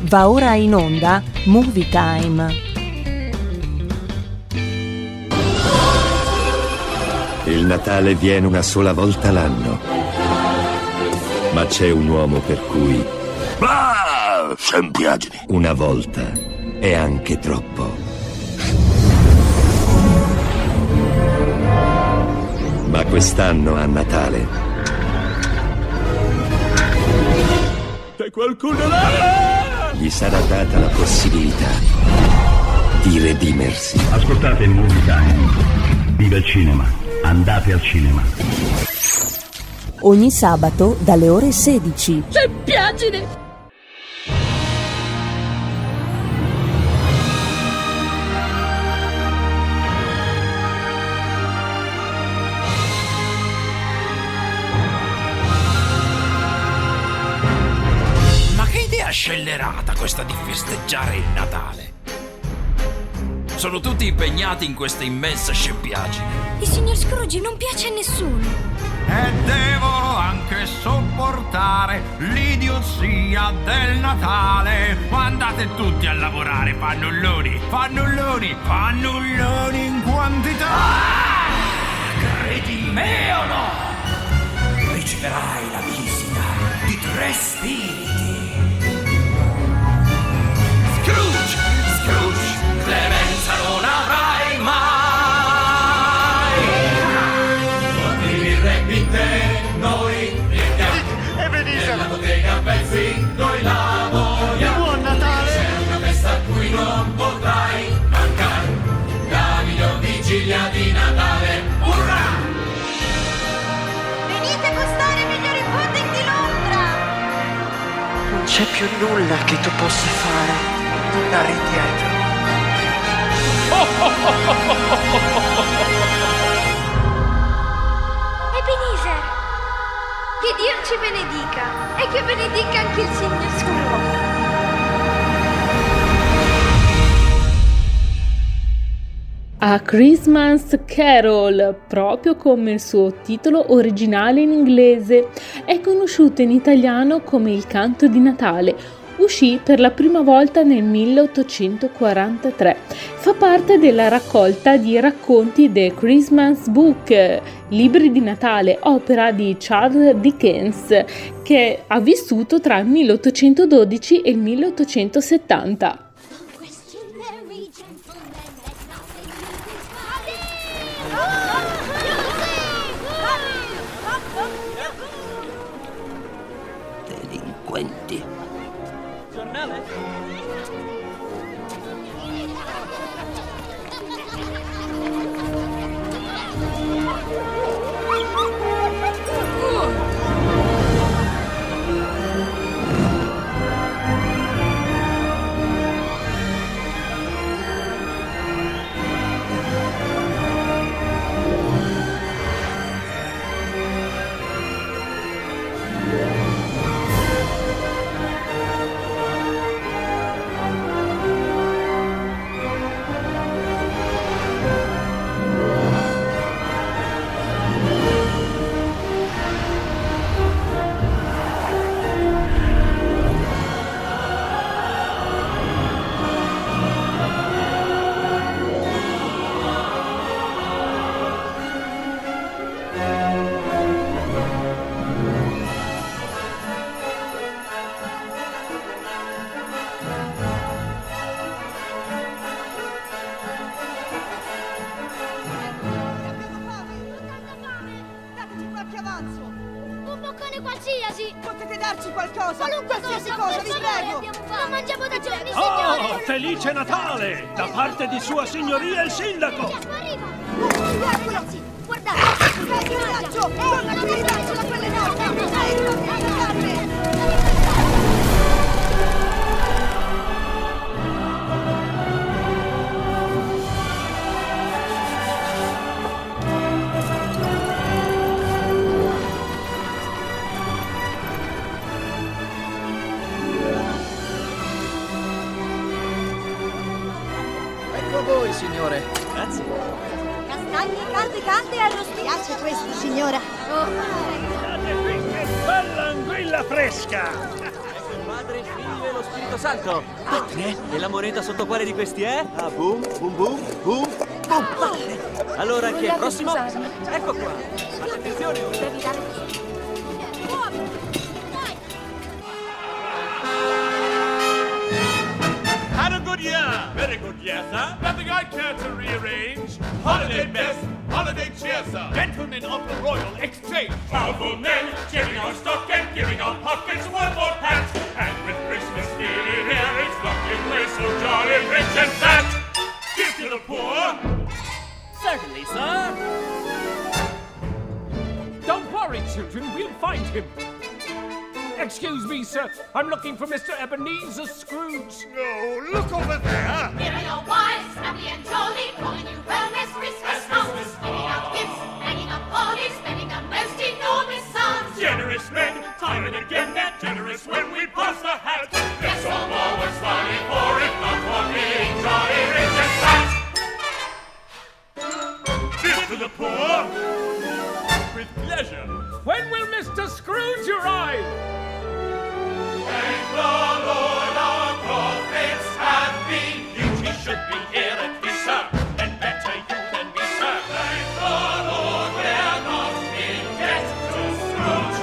Va ora in onda Movie Time. Il Natale viene una volta l'anno, ma c'è un uomo per cui sempiagini. Una volta è anche troppo. Ma quest'anno a Natale C'è qualcuno là? gli sarà data la possibilità di redimersi. Ascoltate il Movie Time. Viva il cinema. Andate al cinema. Ogni sabato dalle ore 16. Sempiagine! Scellerata questa di festeggiare il Natale. Sono tutti impegnati in questa immensa scempiaggine. Il signor Scrooge non piace a nessuno. E devo anche sopportare l'idiozia del Natale. Ma andate tutti a lavorare, fannulloni, fannulloni, fannulloni in quantità. Credi me o no? Riceverai la visita di 3 spiriti. Scrooge, clemenza non avrai mai. Portimi il re in te, noi riendiamo. E venite! Nella bottega a pezzi, noi lavoriamo. Buon Natale! C'è una festa a cui non potrai mancare. La miglior vigilia di Natale, urrà! Venite a gustare i migliori pudding di Londra! Non c'è più nulla che tu possa fare. Andare indietro. Ebenezer! Che Dio ci benedica e che benedica anche il signor Scrooge. A Christmas Carol, proprio come il suo titolo originale in inglese, è conosciuto in italiano come Il canto di Natale. Uscì per la prima volta nel 1843. Fa parte della raccolta di racconti The Christmas Book, libri di Natale, opera di Charles Dickens, che ha vissuto tra il 1812 e il 1870. Delinquenti. Potete darci qualcosa? Qualsiasi cosa, vi prego! Non mangiamo da giorni, signore! Oh, felice Natale! Da parte di Sua Signoria il Sindaco! Arriva! Ragazzi, guardate! Dai, coraggio! Non la tirare sulla pelle d'oca! Ecco voi, signore. Grazie. Castagni calde e arrostite. Piace questo, signora? Guardate qui che bella anguilla fresca! Padre, Figlio e lo Spirito Santo. E la moneta sotto quale di questi è? Ah, boom, boom, boom, boom, boom. Allora, chi è il prossimo? Ecco qua. Fate attenzione. Devi dare Had a good year. Very good year, sir. Nothing I care to rearrange. Holiday best, holiday cheer, sir. Gentlemen of the Royal Exchange. Powerful men, cheering on stock and giving on pockets one more pat. And with Christmas nearly here, it's looking we're so jolly rich and fat. Give to the poor. Certainly, sir. Don't worry, children. We'll find him. Excuse me, sir. I'm looking for Mr. Ebenezer Scrooge. No, look over there. Here are your wives, happy and jolly, calling you well this Christmas out. Giving out gifts, hanging up parties, spending a most enormous sums. Generous men, time and again they're generous when we pass the hat. Let's all know what's funny for it, not for being jolly rich and fat. Give to the poor. With pleasure. When will Mr. Scrooge arrive? Thank the Lord our prophets have been. You should be here at this, sir, and better you than me, sir. Thank the Lord we're not in debt to Scrooge.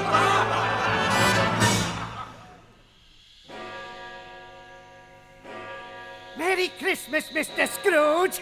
Merry Christmas, Mr. Scrooge!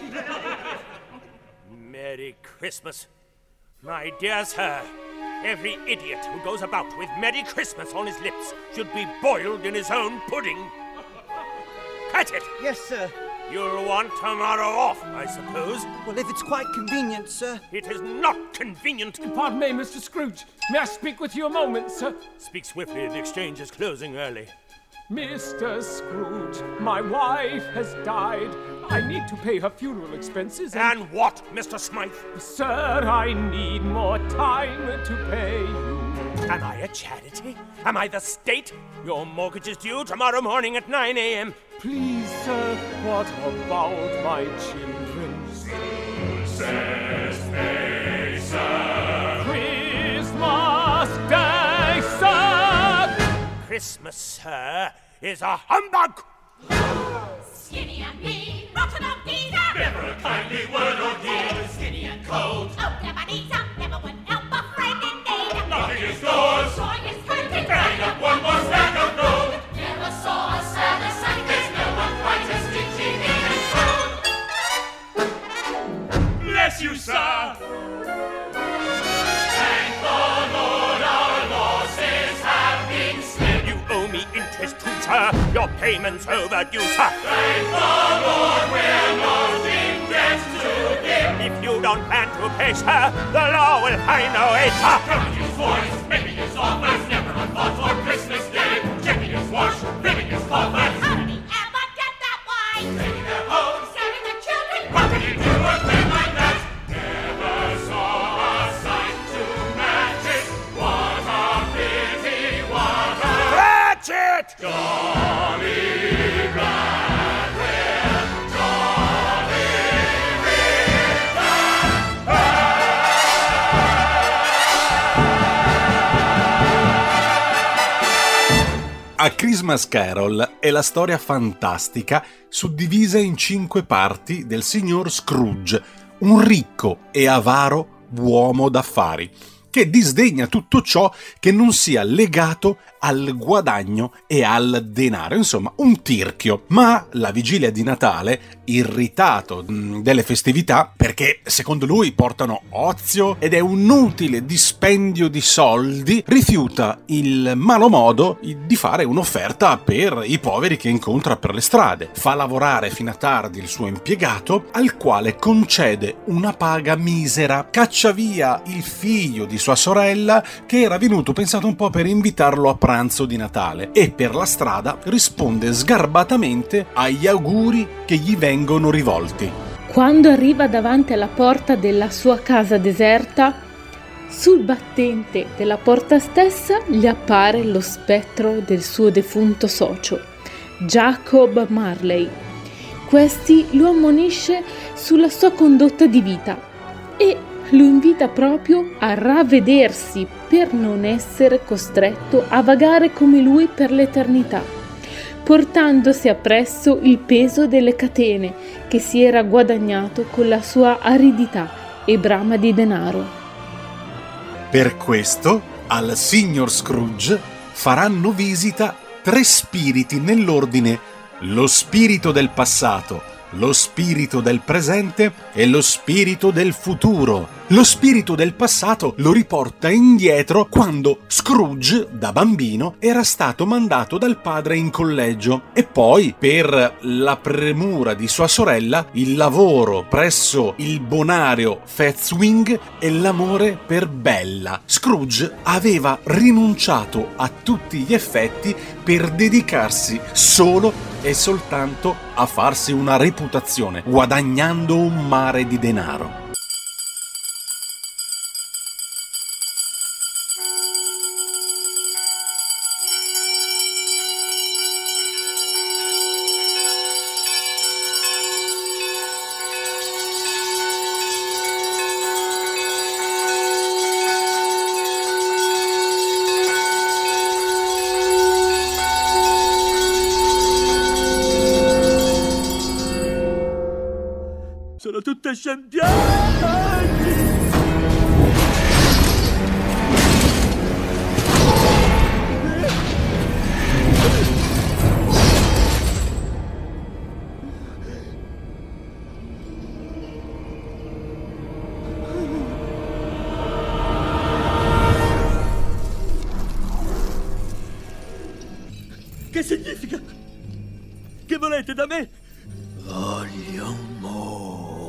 Merry Christmas. My dear sir, every idiot who goes about with Merry Christmas on his lips should be boiled in his own pudding. Catch it! Yes, sir. You'll want tomorrow off, I suppose. Well, if it's quite convenient, sir. It is not convenient. Pardon me, Mr. Scrooge. May I speak with you a moment, sir? Speak swiftly, the exchange is closing early. Mr. Scrooge, my wife has died. I need to pay her funeral expenses and what, Mr. Smythe? Sir, I need more time to pay you. Am I a charity? Am I the state? Your mortgage is due tomorrow morning at 9 a.m. Please, sir, what about my children? Says they, sir. Christmas Day, sir! Christmas, sir, is a humbug! Skinny and mean, rotten up Peter. Never a kindly word or deed. Skinny and cold. Oh, Ebenezer, never would help a friend in need. Knocking his doors. Drawing his curtain. Bang up one more stack of gold. Never saw a sadder sight. There's no one quite as stingy, mean and cold. Bless you, sir. Thank the Lord our losses have been spent. You owe me interest too, sir. Your payment's overdue, sir. Thank the Lord we're not in debt to him. If you don't plan to pay, sir, the law will find a way, sir. Counting his voice, making his offers, never a thought for Christmas Day. Checking his watch, filling his coffers. How did he ever get that way? Taking their homes, Scaring the children. how could he do a thing like that? Never saw a sight to match it. What a pity, what a Catch it! jolly glad we're jolly rich and A Christmas Carol è la storia fantastica suddivisa in 5 parti del signor Scrooge, un ricco e avaro uomo d'affari, che disdegna tutto ciò che non sia legato al guadagno e al denaro, insomma un tirchio. Ma la vigilia di Natale, irritato delle festività, perché secondo lui portano ozio ed è un utile dispendio di soldi, rifiuta il malo modo di fare un'offerta per i poveri che incontra per le strade. Fa lavorare fino a tardi il suo impiegato, al quale concede una paga misera, caccia via il figlio di sua sorella che era venuto, pensate un po', per invitarlo a pranzo di Natale, e per la strada risponde sgarbatamente agli auguri che gli vengono rivolti. Quando arriva davanti alla porta della sua casa deserta, sul battente della porta stessa gli appare lo spettro del suo defunto socio, Jacob Marley. Questi lo ammonisce sulla sua condotta di vita e lo invita proprio a ravvedersi per non essere costretto a vagare come lui per l'eternità. portandosi appresso il peso delle catene che si era guadagnato con la sua aridità e brama di denaro. Per questo al signor Scrooge faranno visita 3 spiriti nell'ordine: lo spirito del passato, lo spirito del presente e lo spirito del futuro. Lo spirito del passato lo riporta indietro quando Scrooge, da bambino, era stato mandato dal padre in collegio e poi, per la premura di sua sorella, il lavoro presso il bonario Fezwing e l'amore per Bella. Scrooge aveva rinunciato a tutti gli effetti per dedicarsi solo e soltanto a farsi una reputazione, guadagnando un mare di denaro. Sono tutte scempiate! Che significa? Che volete da me? Voglio molto.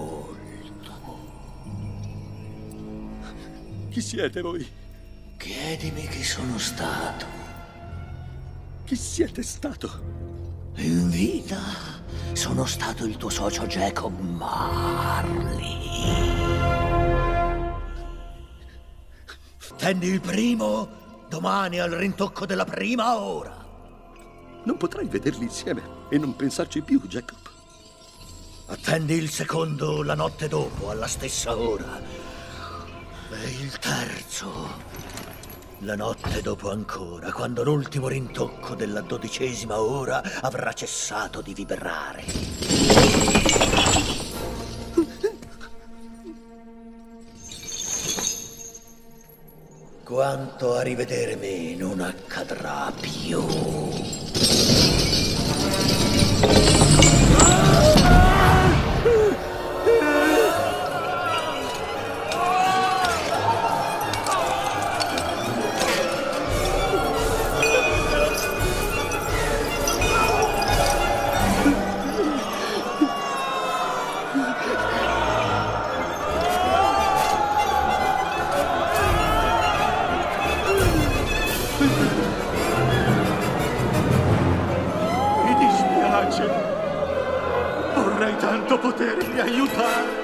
Chi siete voi? Chiedimi chi sono stato. Chi siete stato? In vita sono stato il tuo socio Jacob Marley. Tendi il primo domani al rintocco della prima ora. Non potrai vederli insieme e non pensarci più, Jacob. Attendi il secondo la notte dopo, alla stessa ora. E il terzo, la notte dopo ancora, quando l'ultimo rintocco della 12ª ora avrà cessato di vibrare. Quanto a rivedere me non accadrà più. Mi dispiace. Vorrei tanto potervi aiutare.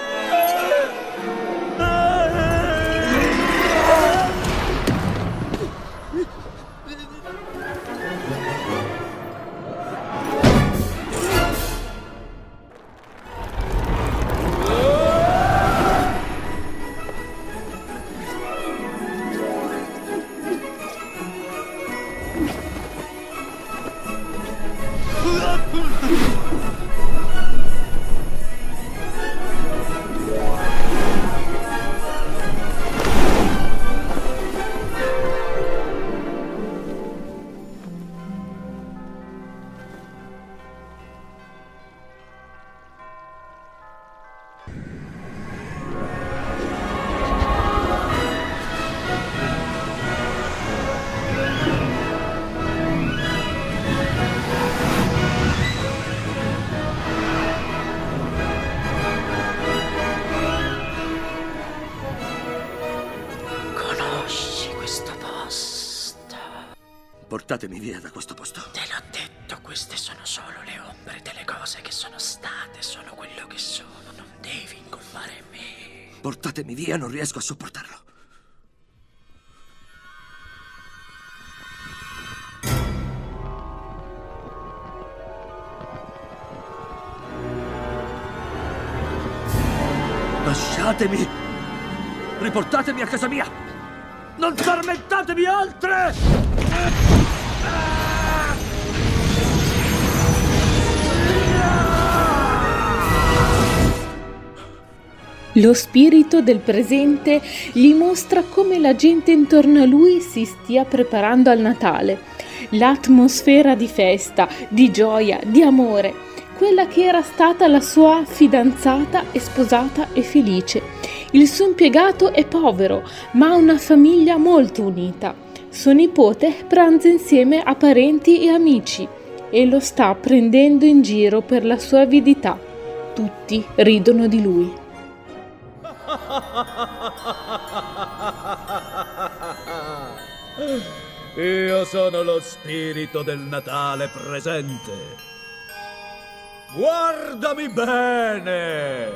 Portatemi via da questo posto. Te l'ho detto, queste sono solo le ombre delle cose che sono state, sono quello che sono. Non devi incolpare me. Portatemi via, non riesco a sopportarlo. Lasciatemi! Riportatemi a casa mia! Non tormentatemi altre! Lo spirito del presente gli mostra come la gente intorno a lui si stia preparando al Natale. L'atmosfera di festa, di gioia, di amore, quella che era stata la sua fidanzata e sposata e felice. Il suo impiegato è povero, ma ha una famiglia molto unita. Suo nipote pranza insieme a parenti e amici e lo sta prendendo in giro per la sua avidità. Tutti ridono di lui. Io sono lo spirito del Natale presente. Guardami bene!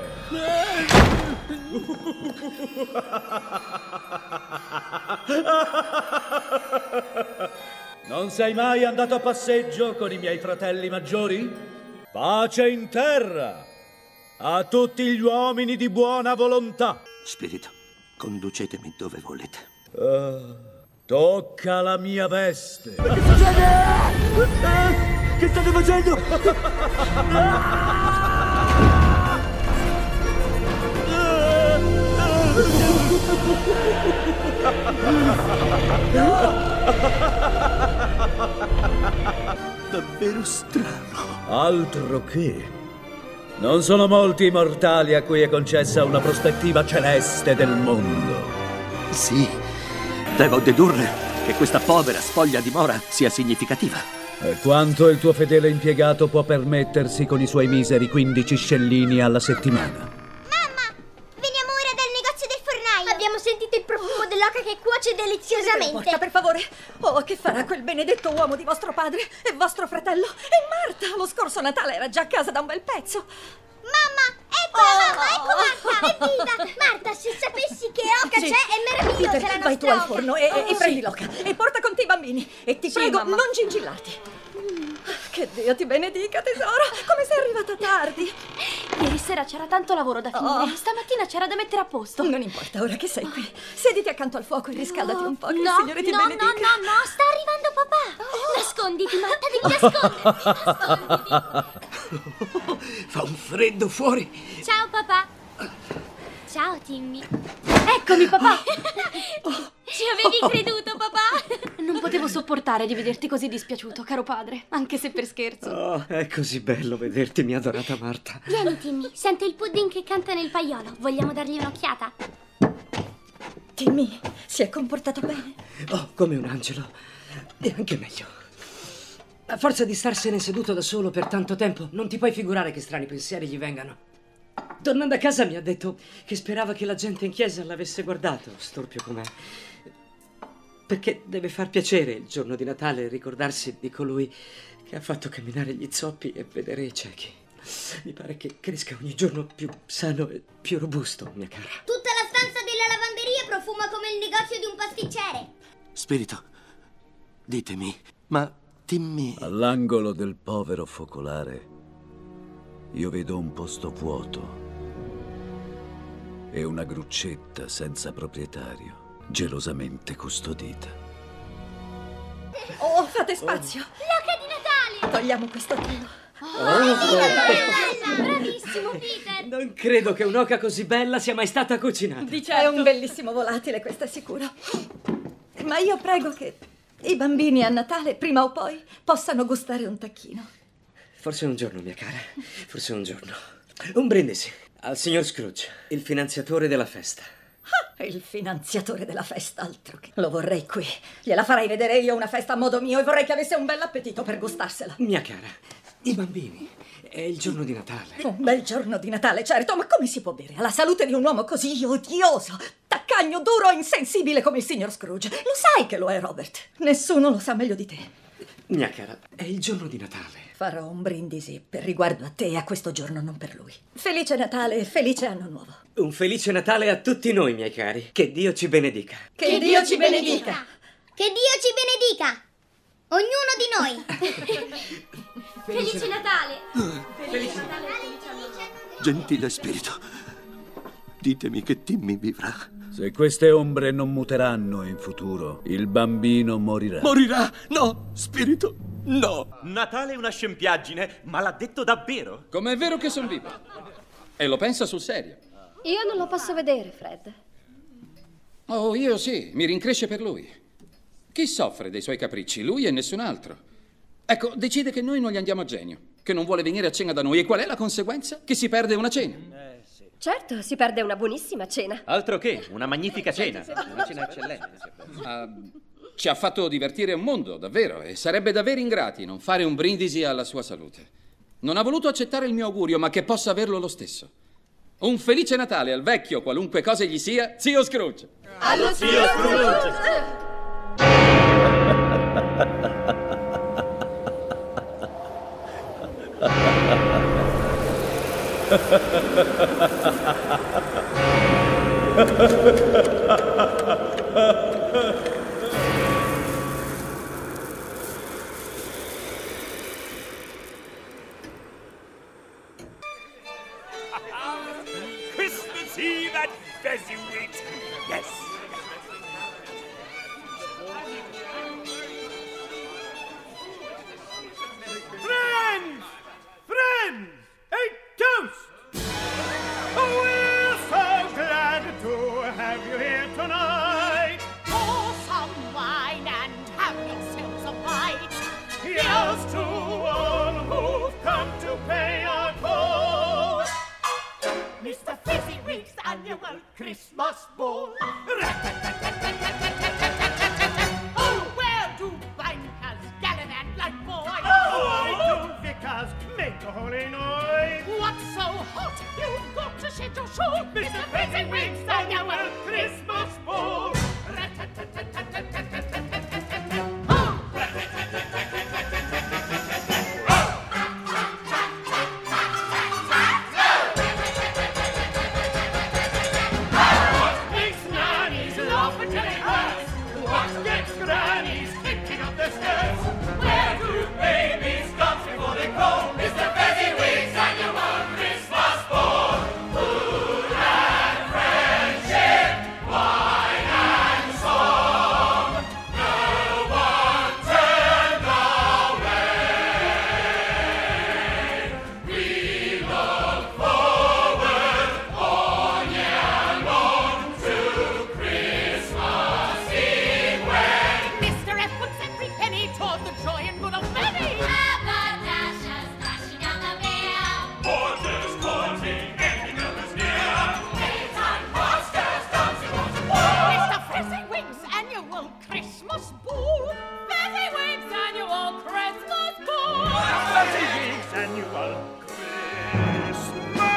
Non sei mai andato a passeggio con i miei fratelli maggiori? Pace in terra a tutti gli uomini di buona volontà. Spirito, conducetemi dove volete. Tocca la mia veste. Ma che succede? Che state facendo? Davvero strano. Altro che. Non sono molti i mortali a cui è concessa una prospettiva celeste del mondo. Sì, devo dedurre che questa povera spoglia dimora sia significativa. E quanto il tuo fedele impiegato può permettersi con i suoi miseri 15 scellini alla settimana? Veniamo ora dal negozio del fornaio. Abbiamo sentito il profumo dell'oca che cuoce deliziosamente. Porta, per favore. Oh, che farà quel benedetto uomo di vostro padre e vostro fratello? E Marta, lo scorso Natale era già a casa da un bel pezzo. Mamma, eccola mamma, ecco Marta, evviva! Marta, se sapessi che oca Sì. c'è, è meravigliosa Peter, la nostra vai tu al oca. forno e prendi l'oca e porta con te i bambini. E ti prego, mamma. non gingillarti. Che Dio ti benedica, tesoro. Come sei arrivata tardi? Ieri sera c'era tanto lavoro da finire. Stamattina c'era da mettere a posto. Non importa, ora che sei qui. Sediti accanto al fuoco e riscaldati un po'. Che il No, Signore ti no, benedica. no, sta arrivando papà. Nasconditi, Marta, devi nasconderti. Fa un freddo fuori. Ciao papà. Ciao Timmy. Eccomi, papà. Ci avevi creduto, papà? Non potevo sopportare di vederti così dispiaciuto, caro padre, anche se per scherzo. Oh, è così bello vederti, mia adorata Marta. Vieni Timmy, sento il pudding che canta nel paiolo. Vogliamo dargli un'occhiata? Timmy, si è comportato bene. Oh, come un angelo. E anche meglio. A forza di starsene seduto da solo per tanto tempo, non ti puoi figurare che strani pensieri gli vengano. Tornando a casa mi ha detto che sperava che la gente in chiesa l'avesse guardato, storpio com'è. Perché deve far piacere il giorno di Natale ricordarsi di colui che ha fatto camminare gli zoppi e vedere i ciechi. Mi pare che cresca ogni giorno più sano e più robusto, mia cara. Tutta la stanza della lavanderia profuma come il negozio di un pasticcere. Spirito, ditemi, ma Timmy... All'angolo del povero focolare io vedo un posto vuoto e una gruccetta senza proprietario, gelosamente custodita. Oh, fate spazio. L'oca di Natale! Togliamo questo telo. Bravissimo, Peter! Non credo che un'oca così bella sia mai stata cucinata. È un bellissimo volatile, questo è sicuro. Ma io prego che i bambini a Natale, prima o poi, possano gustare un tacchino. Forse un giorno, mia cara, forse un giorno. Un brindisi al signor Scrooge, il finanziatore della festa. Ah, il finanziatore della festa, altro che... Lo vorrei qui. Gliela farei vedere io una festa a modo mio e vorrei che avesse un bel appetito per gustarsela. Mia cara, i bambini, è il giorno di Natale. Un bel giorno di Natale, certo, ma come si può bere alla salute di un uomo così odioso, taccagno, duro e insensibile come il signor Scrooge? Lo sai che lo è, Robert. Nessuno lo sa meglio di te. Mia cara, è il giorno di Natale. Farò un brindisi per riguardo a te e a questo giorno, non per lui. Felice Natale e felice anno nuovo. Un felice Natale a tutti noi, miei cari. Che Dio ci benedica. Che Dio ci benedica. Che Dio ci benedica! Ognuno di noi! Felice Natale! Felice Natale! Gentile spirito, ditemi che Timmy vivrà. Se queste ombre non muteranno in futuro, il bambino morirà. Morirà? No, spirito, no! Natale è una scempiaggine, ma l'ha detto davvero? Com'è vero che son vivo. E lo pensa sul serio. Io non lo posso vedere, Fred. Oh, io sì, mi rincresce per lui. Chi soffre dei suoi capricci? Lui e nessun altro. Ecco, decide che noi non gli andiamo a genio, che non vuole venire a cena da noi. E qual è la conseguenza? Che si perde una cena. Certo, si perde una buonissima cena. Altro che, una magnifica cena. Una cena eccellente. Ci ha fatto divertire un mondo, davvero, e sarebbe davvero ingrati non fare un brindisi alla sua salute. Non ha voluto accettare il mio augurio, ma che possa averlo lo stesso. Un felice Natale al vecchio, qualunque cosa gli sia, zio Scrooge. Allo zio Scrooge! Christmas Eve at Fezziwig. Yes. Friends! Friends! A toast! Oh, we're so glad to have you here tonight. Pour some wine and have yourselves a bite. Here's to all who've come to pay our call. Mr. Fezziwig's annual Christmas ball. Oh, where do bankers gallivant like boys? Why do vicars make a holy noise? What's so hot? You've got to shed your shoe. Mr. Fezziwig's annual Christmas ball. What gets grannies kicking up their skirts? Where do babies dance before they go? Mr. Fezziwig's annual Christmas ball. Food and friendship, wine and song. No one turned away. We look forward all year long to Christmas Eve. Mr. F puts every penny toward the joy and good of many. Haberdashers dashing down the mere. Porters courting, ending others near. Daytime pastors dancing on the wall. Mr. Fezziwig's annual Christmas ball. Fezziwig's annual Christmas ball. Fezziwig's annual Christmas ball.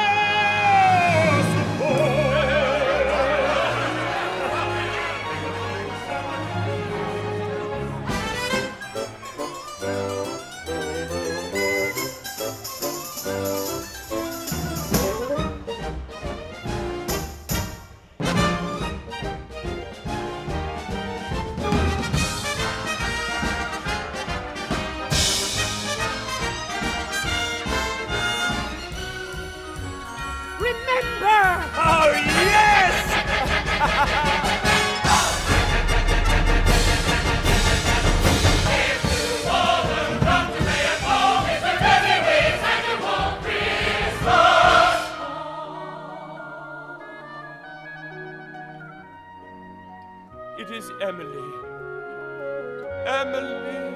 Remember! Oh, yes! It is Emily. Emily.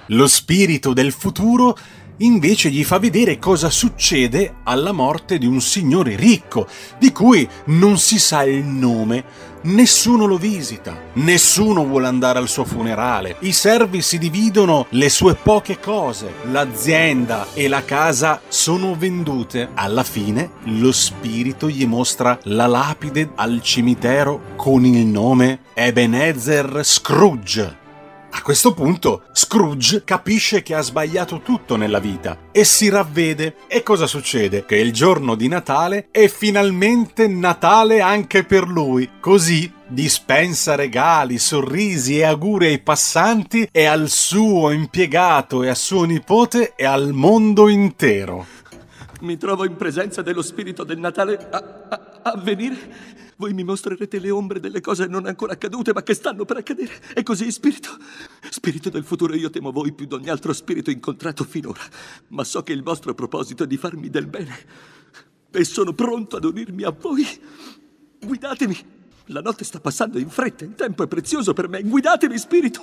Lo spirito del futuro invece gli fa vedere cosa succede alla morte di un signore ricco, di cui non si sa il nome. Nessuno lo visita, nessuno vuole andare al suo funerale, i servi si dividono le sue poche cose, l'azienda e la casa sono vendute. Alla fine lo spirito gli mostra la lapide al cimitero con il nome Ebenezer Scrooge. A questo punto Scrooge capisce che ha sbagliato tutto nella vita e si ravvede. E cosa succede? Che il giorno di Natale è finalmente Natale anche per lui. Così dispensa regali, sorrisi e auguri ai passanti e al suo impiegato e a suo nipote e al mondo intero. Mi trovo in presenza dello spirito del Natale a venire. Voi mi mostrerete le ombre delle cose non ancora accadute, ma che stanno per accadere. E così, spirito del futuro, io temo voi più di ogni altro spirito incontrato finora. Ma so che il vostro proposito è di farmi del bene. E sono pronto ad unirmi a voi. Guidatemi. La notte sta passando in fretta, il tempo è prezioso per me. Guidatemi, spirito.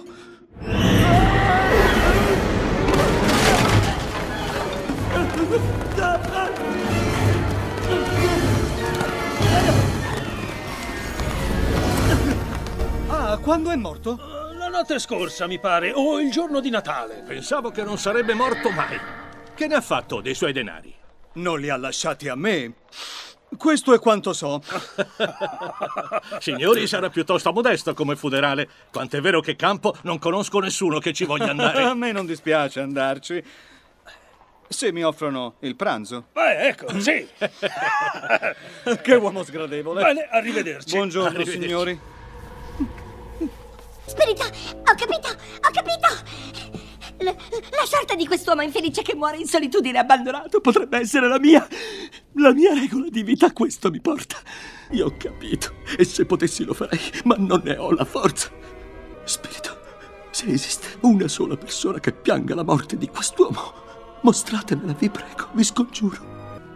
Quando è morto? La notte scorsa, mi pare, o il giorno di Natale. Pensavo che non sarebbe morto mai. Che ne ha fatto dei suoi denari? Non li ha lasciati a me. Questo è quanto so. Signori, sarà piuttosto modesto come funerale. Quant'è vero che campo non conosco nessuno che ci voglia andare. A me non dispiace andarci. Se mi offrono il pranzo. Ecco, sì. Che uomo sgradevole. Bene, arrivederci. Buongiorno, Arrivederci. signori. Spirito, ho capito! La sorte di quest'uomo infelice che muore in solitudine abbandonato Potrebbe essere la mia regola di vita. Questo mi porta. Io ho capito. E se potessi lo farei, ma non ne ho la forza. Spirito, se esiste una sola persona che pianga la morte di quest'uomo, mostratemela, vi prego, vi scongiuro.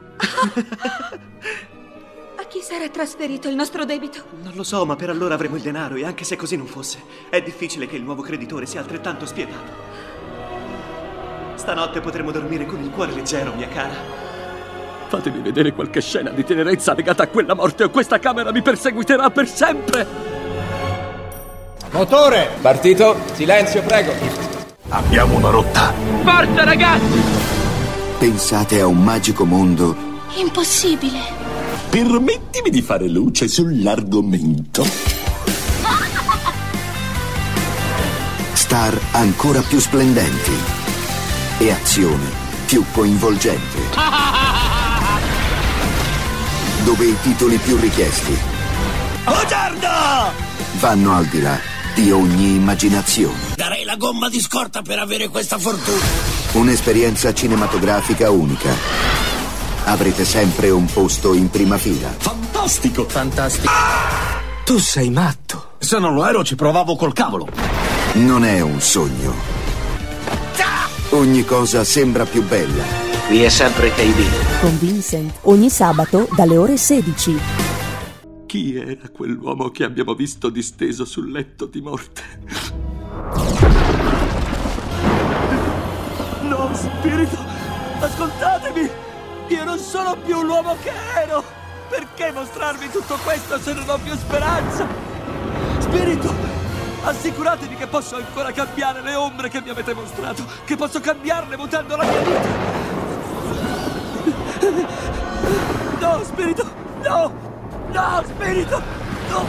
A chi sarà trasferito il nostro debito? Non lo so, ma per allora avremo il denaro e anche se così non fosse, è difficile che il nuovo creditore sia altrettanto spietato. Stanotte potremo dormire con il cuore leggero, mia cara. Fatemi vedere qualche scena di tenerezza legata a quella morte o questa camera mi perseguiterà per sempre. Motore! Partito. Silenzio, prego. Abbiamo una rotta. Forza, ragazzi! Pensate a un magico mondo. Impossibile. Permettimi di fare luce sull'argomento. Star ancora più splendenti e azione più coinvolgente. Dove i titoli più richiesti Buongiorno! vanno al di là di ogni immaginazione. Darei la gomma di scorta per avere questa fortuna. Un'esperienza cinematografica unica. Avrete sempre un posto in prima fila. Fantastico! Fantastico. Tu sei matto. Se non lo ero ci provavo col cavolo. Non è un sogno. Ogni cosa sembra più bella. Qui è sempre KB. Con Vincent, ogni sabato dalle ore 16. Chi era quell'uomo che abbiamo visto disteso sul letto di morte? No, spirito, ascoltatemi! Io non sono più l'uomo che ero! Perché mostrarvi tutto questo se non ho più speranza? Spirito, assicuratevi che posso ancora cambiare le ombre che mi avete mostrato, che posso cambiarle mutando la mia vita! No, spirito, no! No, spirito, no!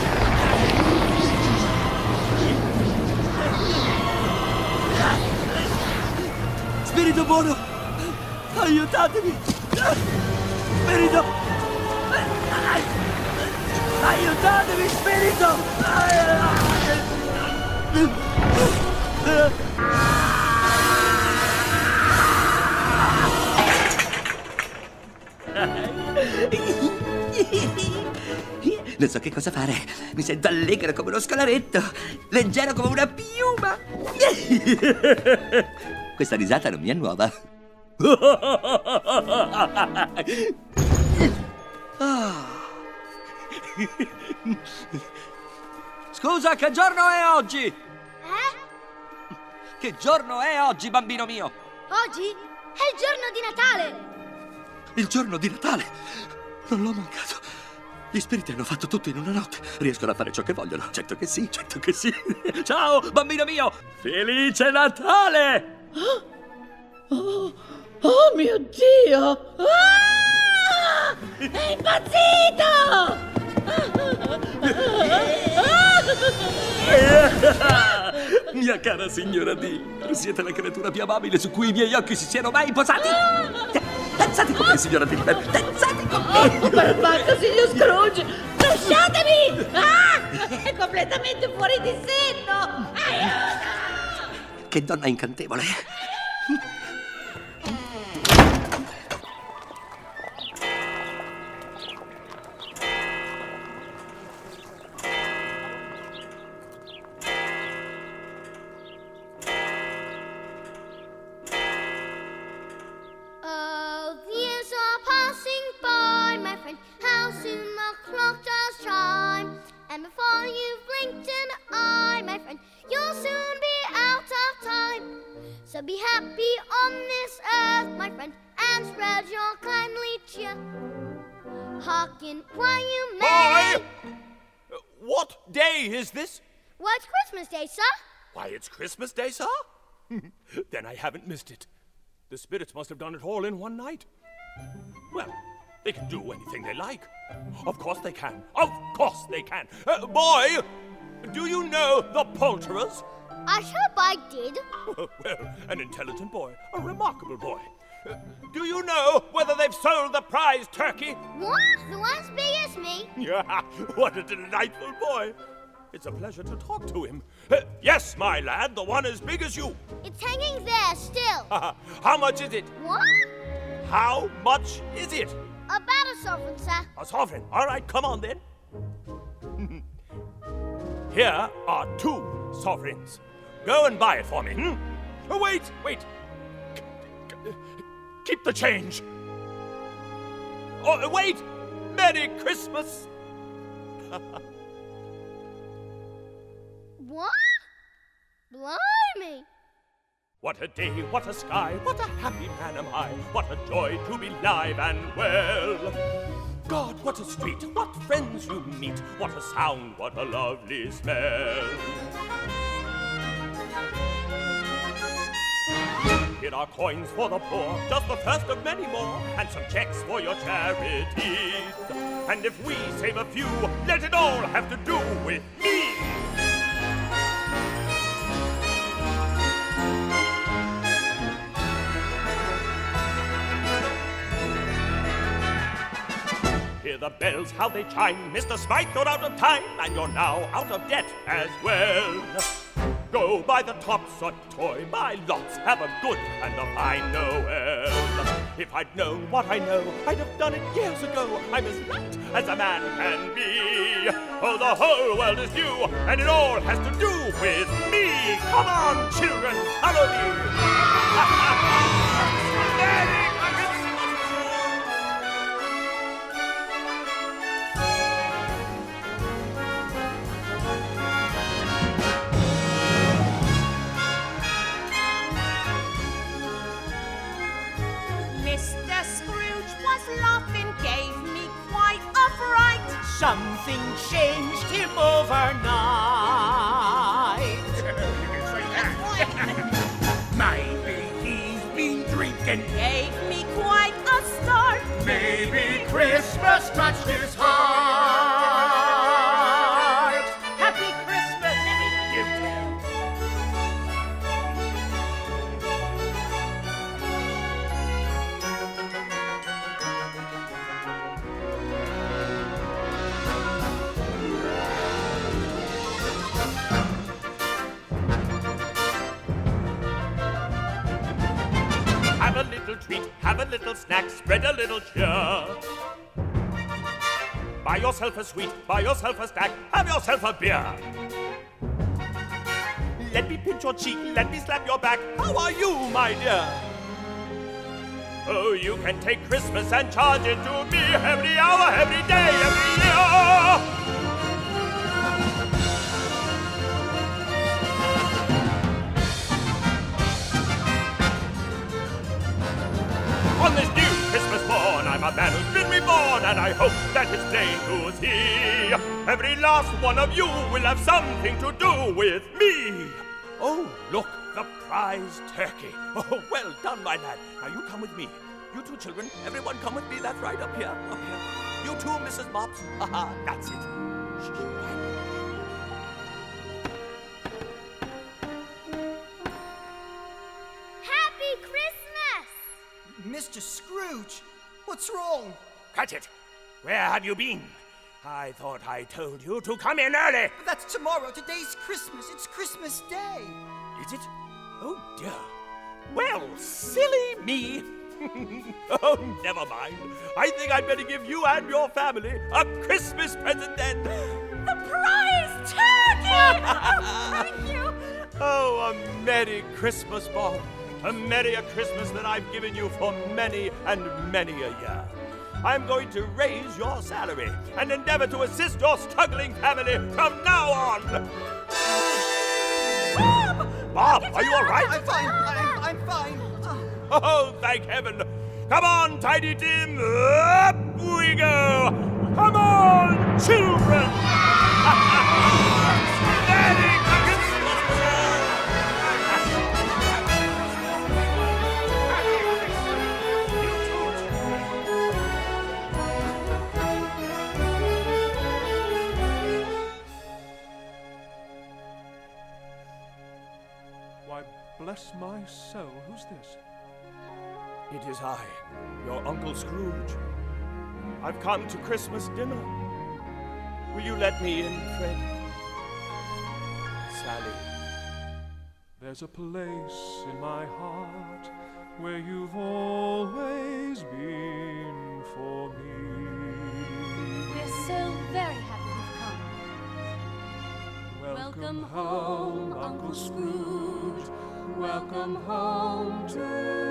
Spirito buono, aiutatemi! Spirito! Aiutatemi, spirito! Non so che cosa fare. Mi sento allegro come uno scalaretto, leggero come una piuma. Questa risata non mi è nuova. Scusa, che giorno è oggi? Che giorno è oggi, bambino mio? Oggi è il giorno di Natale! Il giorno di Natale! Non l'ho mancato. Gli spiriti hanno fatto tutto in una notte. Riescono a fare ciò che vogliono. Certo che sì, certo che sì. Ciao, bambino mio! Felice Natale! Oh mio Dio! Ah! È impazzito! Mia cara signora D, siete la creatura più amabile su cui i miei occhi si siano mai posati. Danzate con me, signora D. Danzate con me. Oh, perbacco, signor Scrooge! Lasciatemi! Ah! È completamente fuori di senno! Aiuto! Che donna incantevole. And before you've blinked an eye, my friend, you'll soon be out of time. So be happy on this earth, my friend, and spread your kindly cheer. Hearken while you may. Boy! What day is this? Why, it's Christmas Day, sir. Why, it's Christmas Day, sir? Then I haven't missed it. The spirits must have done it all in one night. Well, they can do anything they like. Of course they can. Of course they can. Boy, do you know the poulterers? I hope I did. Well, an intelligent boy. A remarkable boy. Do you know whether they've sold the prize turkey? What? The one as big as me? What a delightful boy. It's a pleasure to talk to him. Yes, my lad, the one as big as you. It's hanging there still. How much is it? What? How much is it? About a sovereign, sir. A sovereign. All right, come on then. Here are 2 sovereigns. Go and buy it for me. Oh, wait. Keep the change. Oh, wait. Merry Christmas. What? Blimey. What a day, what a sky, what a happy man am I. What a joy to be live and well. God, what a street, what friends you meet. What a sound, what a lovely smell. Here are coins for the poor, just the first of many more, and some checks for your charities. And if we save a few, let it all have to do with me. Hear the bells, how they chime. Mr. Smythe, you're out of time, and you're now out of debt as well. Go buy the tops a toy, buy lots, have a good and a fine Noel. If I'd known what I know, I'd have done it years ago. I'm as right as a man can be. Oh, the whole world is new, and it all has to do with me. Come on, children, follow me. Mr. Scrooge was laughing, gave me quite a fright. Something changed him overnight. Maybe he's been drinking. Gave me quite a start. Maybe Christmas touched his heart. Happy Christmas, every gift. Have a little treat, have a little snack, spread a little cheer. Buy yourself a sweet, buy yourself a stack, have yourself a beer. Let me pinch your cheek, let me slap your back. How are you, my dear? Oh, you can take Christmas and charge it to me every hour, every day, every year. on, and I hope that it's plain to see. Every last one of you will have something to do with me. Oh, look, the prize turkey. Oh, well done, my lad. Now you come with me. You two children, everyone come with me. That's right, up here, up here. You too, Mrs. Mops. Haha, that's it. Shh, Happy Christmas! Mr. Scrooge, what's wrong? Cratchit, where have you been? I thought I told you to come in early. That's tomorrow. Today's Christmas. It's Christmas Day. Is it? Oh, dear. Well, silly me. Oh, never mind. I think I'd better give you and your family a Christmas present then. The prize turkey! Oh, thank you. Oh, a Merry Christmas, Bob. A merrier Christmas than I've given you for many and many a year. I'm going to raise your salary and endeavor to assist your struggling family from now on. Bob, are you all right? I'm fine. I'm fine. Oh, thank heaven. Come on, Tiny Tim. Up we go. Come on, children. Merry Christmas. Why, bless my soul, who's this? It is I, your Uncle Scrooge. I've come to Christmas dinner. Will you let me in, Fred? Sally. There's a place in my heart where you've always been for me. We're so very happy you've come. Welcome home, Uncle Scrooge. Welcome home to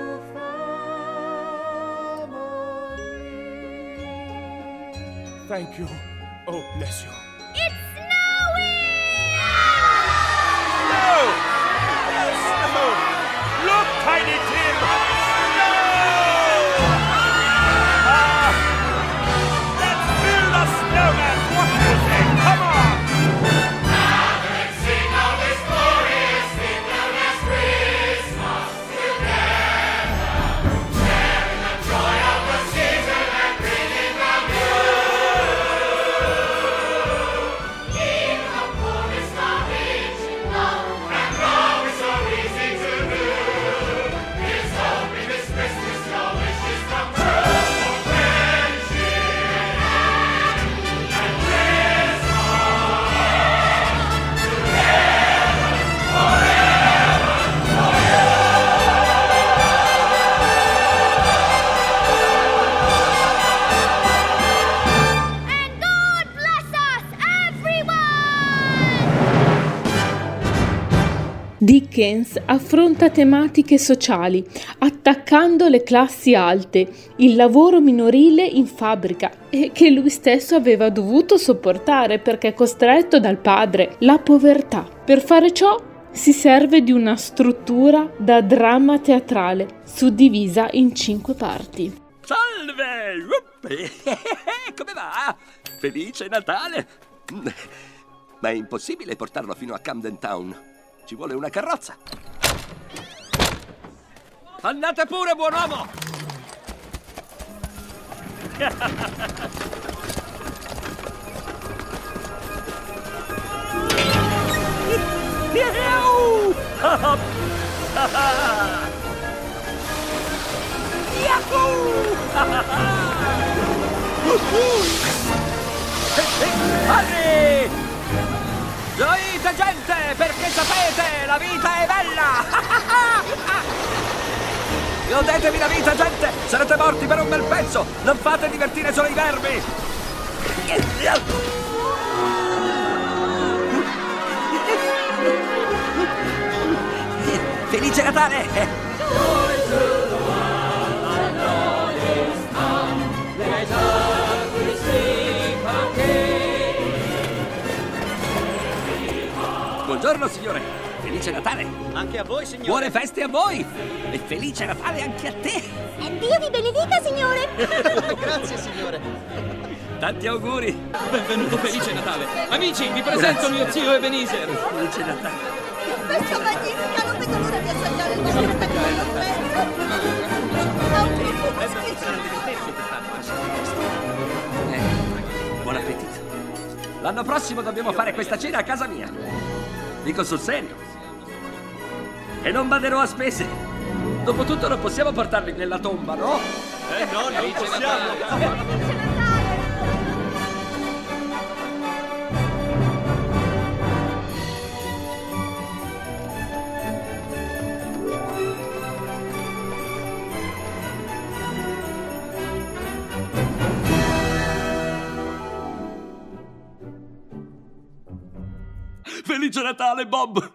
family. Thank you. Oh, bless you. It's snowing! Snow! Snow! Look, Tiny Tim! Snow! Let's build a snowman! What do you say? Come on! Dickens affronta tematiche sociali, attaccando le classi alte, il lavoro minorile in fabbrica, e che lui stesso aveva dovuto sopportare perché costretto dal padre, la povertà. Per fare ciò si serve di una struttura da dramma teatrale, suddivisa in 5 parti. Salve! Come va? Felice Natale! Ma è impossibile portarlo fino a Camden Town. Ci vuole una carrozza. Andate pure, buon uomo! Harry! Gioite, gente, perché sapete, la vita è bella! Godetevi la vita, gente! Sarete morti per un bel pezzo! Non fate divertire solo i vermi! Felice Natale! Buongiorno, signore. Felice Natale. Anche a voi, signore. Buone feste a voi. E felice Natale anche a te. Dio vi benedica, signore. Grazie, signore. Tanti auguri. Benvenuto, felice Natale. Amici, vi presento mio zio Ebenezer. Felice Natale. Festa magnifica, non vedo l'ora di assaggiare il vostro Buon appetito. L'anno prossimo dobbiamo fare questa cena a casa mia. Dico sul serio. E non baderò a spese. Dopotutto non possiamo portarli nella tomba, no? No, non possiamo. Felice Natale, Bob!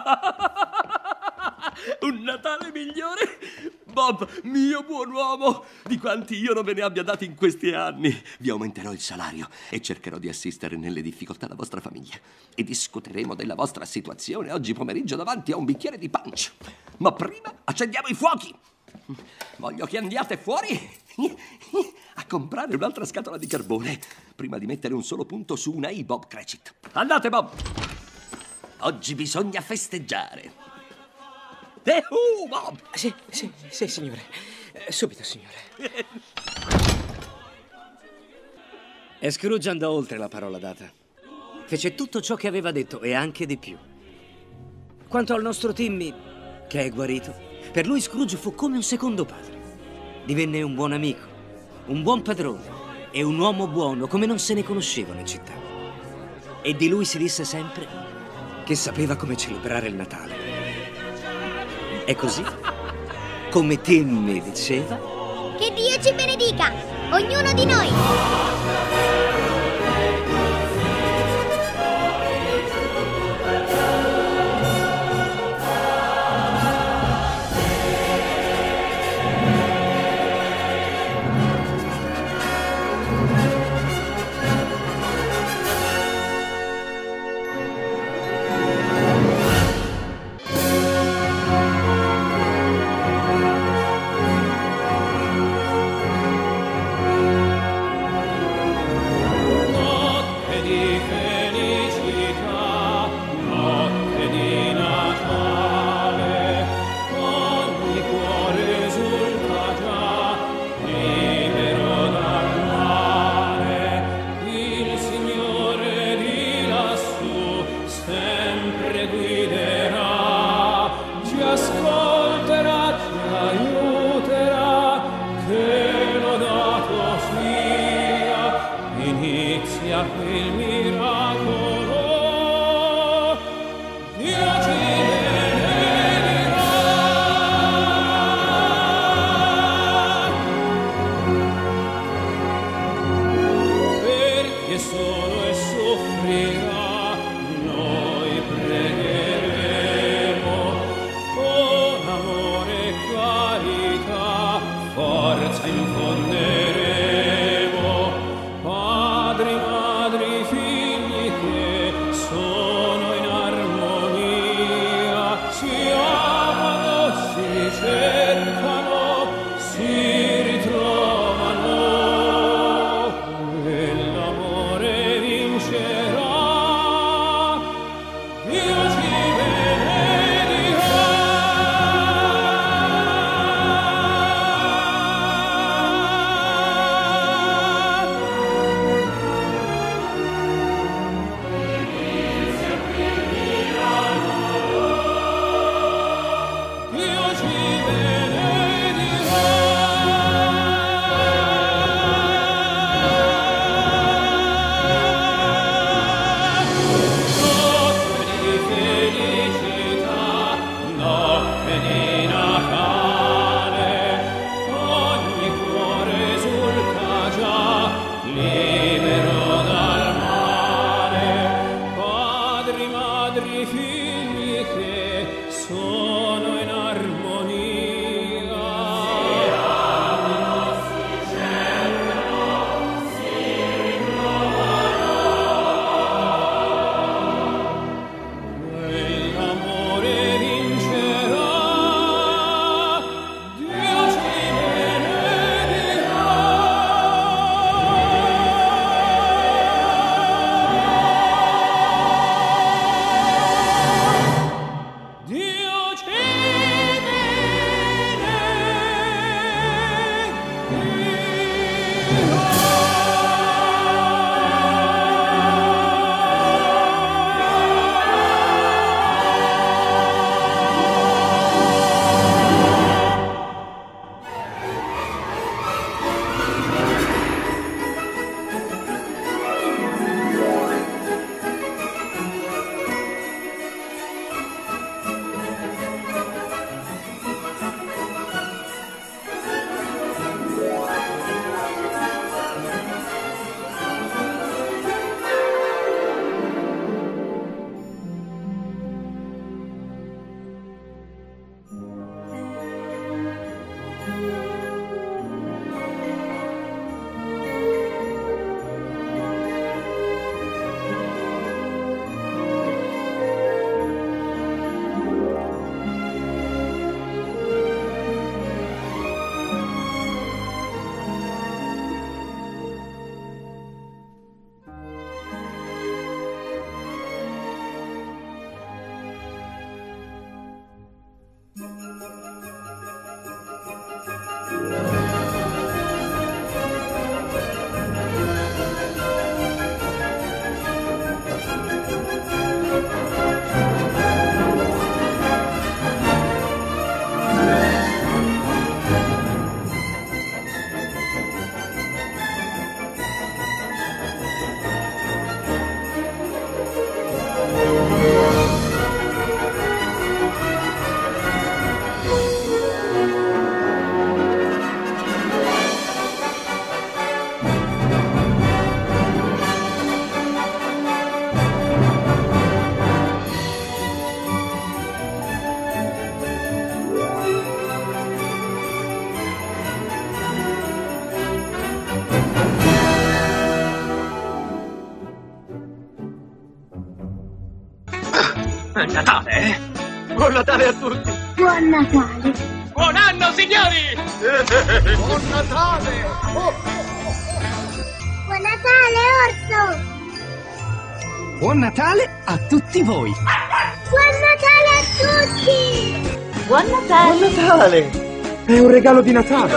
Un Natale migliore? Bob, mio buon uomo, di quanti io non ve ne abbia dati in questi anni. Vi aumenterò il salario e cercherò di assistere nelle difficoltà la vostra famiglia. E discuteremo della vostra situazione oggi pomeriggio davanti a un bicchiere di punch. Ma prima accendiamo i fuochi. Voglio che andiate fuori a comprare un'altra scatola di carbone prima di mettere un solo punto su una I, Bob Cratchit. Andate, Bob! Oggi bisogna festeggiare. Bob! Sì, signore. Subito, signore. E Scrooge andò oltre la parola data. Fece tutto ciò che aveva detto e anche di più. Quanto al nostro Timmy, che è guarito, per lui Scrooge fu come un secondo padre. Divenne un buon amico, un buon padrone e un uomo buono come non se ne conoscevano in città. E di lui si disse sempre che sapeva come celebrare il Natale. E così, come Timmy diceva, che Dio ci benedica, ognuno di noi. È Natale, eh? Buon Natale a tutti! Buon Natale! Buon anno, signori! Buon Natale! Buon Natale, orso! Buon Natale a tutti voi! Buon Natale a tutti! Buon Natale! Buon Natale! È un regalo di Natale!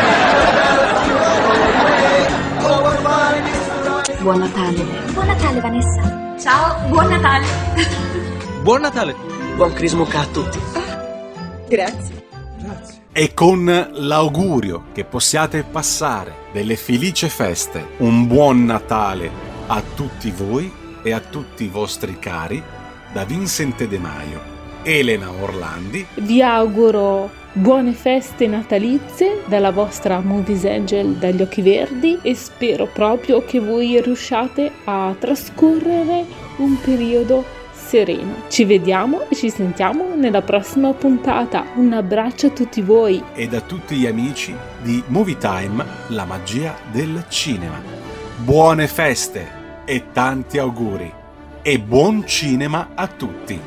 Buon Natale. Buon Natale, Vanessa. Ciao, buon Natale! Buon Natale! Buon Crismuca a tutti! Grazie. E con l'augurio che possiate passare delle felici feste, un buon Natale a tutti voi e a tutti i vostri cari, da Vincent De Maio, Elena Orlandi. Vi auguro buone feste natalizie dalla vostra Movies Angel dagli occhi verdi e spero proprio che voi riusciate a trascorrere un periodo sereno. Ci vediamo e ci sentiamo nella prossima puntata. Un abbraccio a tutti voi e da tutti gli amici di Movie Time, la magia del cinema. Buone feste e tanti auguri e buon cinema a tutti.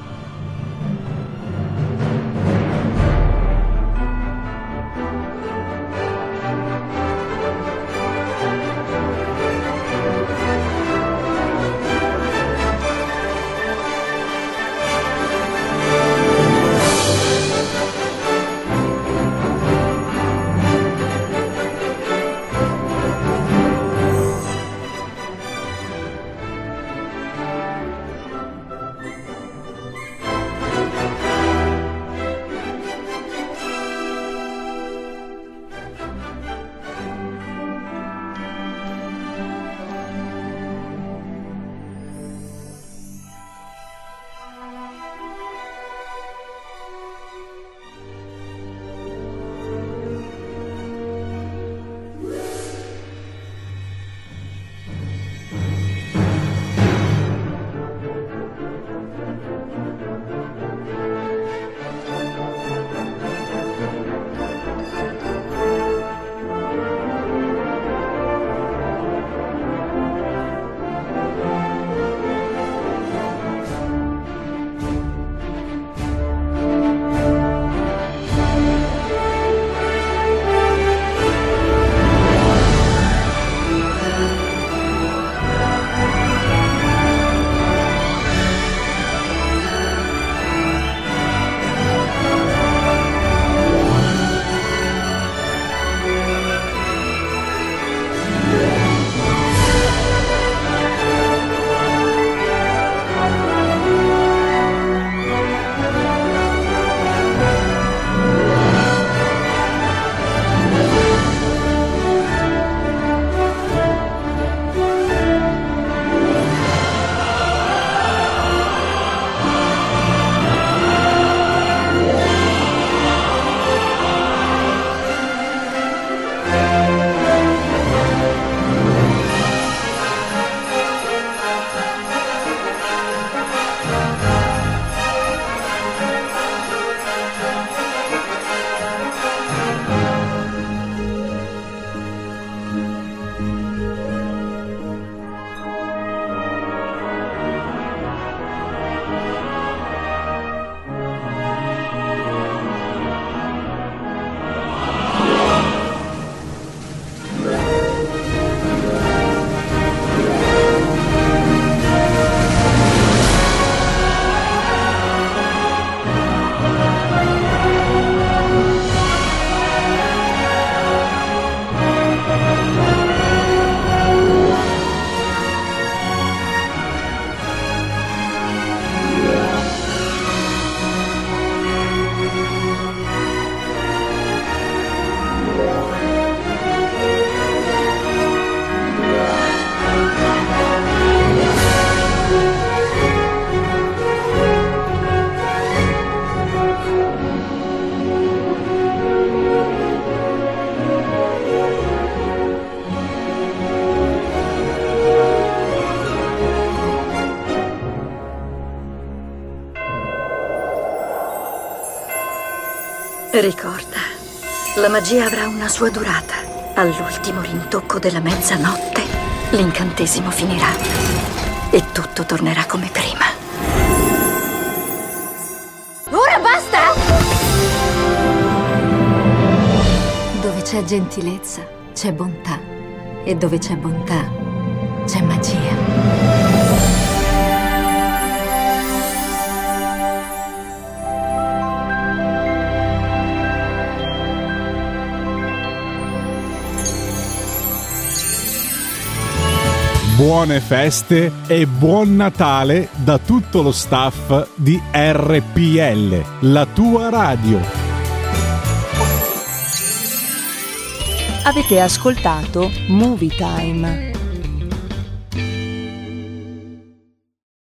Ricorda, la magia avrà una sua durata. All'ultimo rintocco della mezzanotte, l'incantesimo finirà e tutto tornerà come prima. c'è gentilezza, c'è bontà. E dove c'è bontà, c'è magia. Buone feste e buon Natale da tutto lo staff di RPL, la tua radio. Avete ascoltato Movie Time.